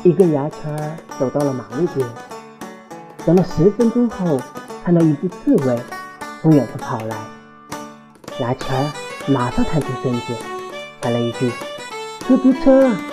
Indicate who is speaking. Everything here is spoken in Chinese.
Speaker 1: 一个牙签走到了马路边，等了10分钟后，看到一只刺猬从远处跑来，牙签马上探出身子，喊了一句：“出租车。”